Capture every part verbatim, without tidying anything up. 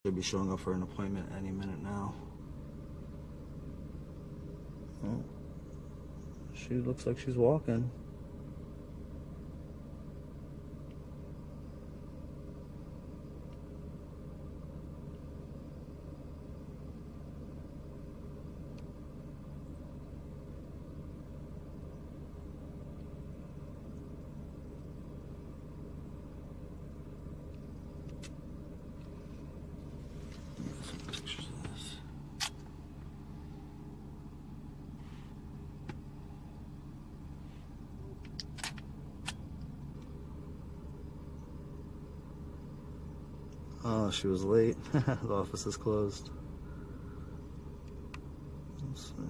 Should be showing up for an appointment any minute now. Oh, she looks like she's walking. Pictures of this. Oh, she was late. The office is closed. Let's see.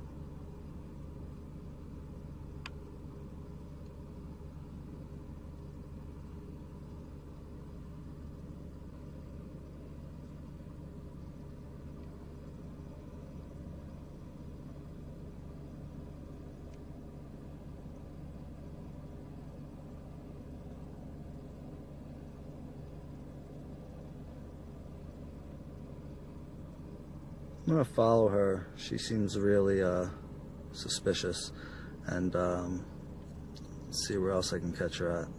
I'm gonna follow her. She seems really uh, suspicious, and um, see where else I can catch her at.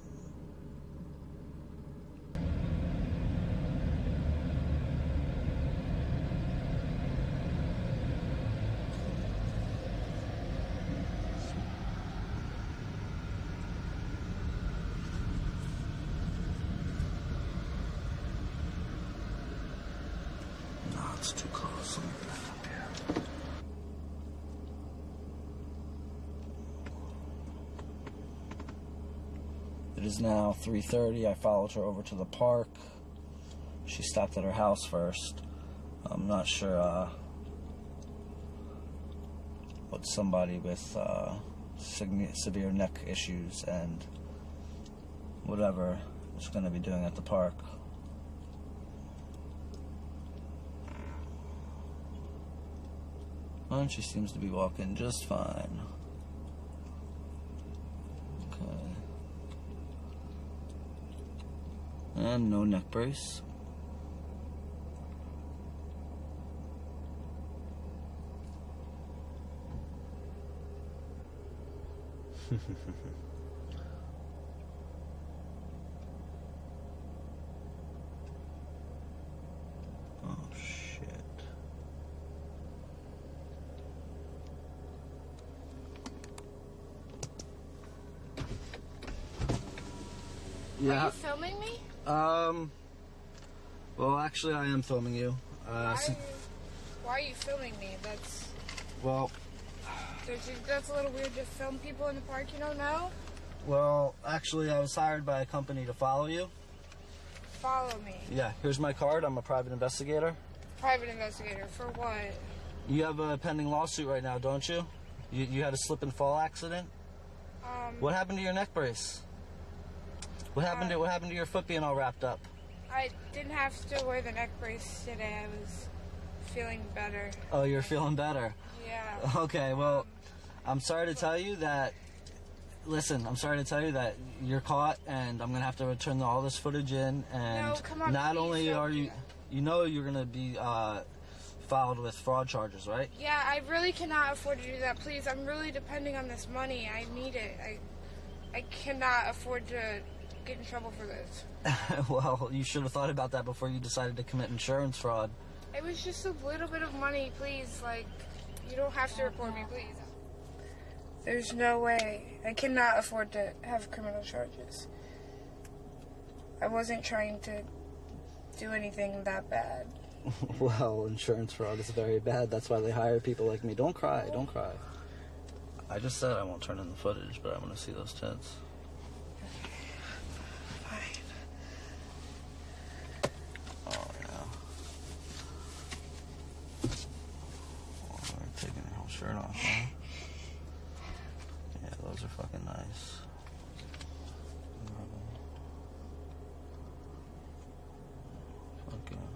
No, it's too close. Let me back up here. It is now three thirty. I followed her over to the park. She stopped at her house first. I'm not sure uh, what somebody with uh, severe neck issues and whatever is going to be doing at the park. And she seems to be walking just fine. Okay. And no neck brace. Oh shit. Yeah. Are you filming me? Um. Well, actually, I am filming you. Uh, Why are you, why are you filming me? That's well, that's that's a little weird to film people in the park you don't know. well, actually, I was hired by a company to follow you. Follow me. Yeah. Here's my card. I'm a private investigator. Private investigator for what? You have a pending lawsuit right now, don't you? You you had a slip and fall accident. Um. What happened to your neck brace? What happened Uh, to what happened to your foot being all wrapped up? I didn't have to wear the neck brace today. I was feeling better. Oh, you're feeling better. Yeah. Okay, well, I'm sorry to tell you that. Listen, I'm sorry to tell you that you're caught, and I'm gonna have to return all this footage in. And No, come on, not please only don't are do you, that. you know, you're gonna be uh, filed with fraud charges, right? Yeah, I really cannot afford to do that. Please, I'm really depending on this money. I need it. I I cannot afford to get in trouble for this. Well, you should have thought about that before you decided to commit insurance fraud. It was just a little bit of money, please. Like, you don't have to report me, please. There's no way. I cannot afford to have criminal charges. I wasn't trying to do anything that bad. Well, insurance fraud is very bad. That's why they hire people like me. Don't cry, don't cry. I just said I won't turn in the footage, but I want to see those tits. Fine. Oh, yeah. Oh, we're taking her whole shirt off, huh? Yeah, those are fucking nice. Fuck yeah.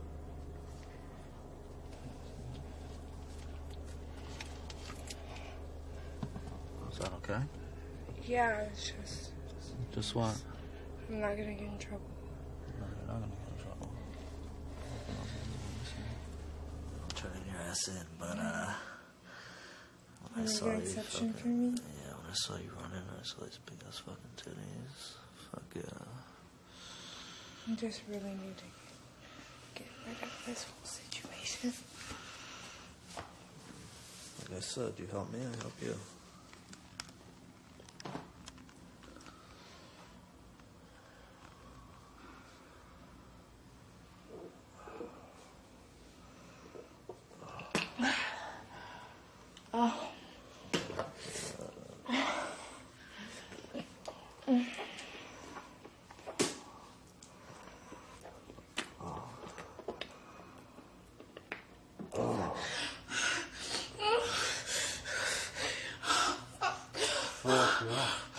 Is that okay? Yeah, it's just... Just what? I'm not gonna get in trouble. No, you're not gonna get in trouble. said, but uh, when I You saw got you exception fucking, for me? yeah, when I saw you running, I saw these big ass fucking titties. Fuck yeah. I just really need to get rid of this whole situation. Like I said, you help me, I help you. Oh. Fuck yeah.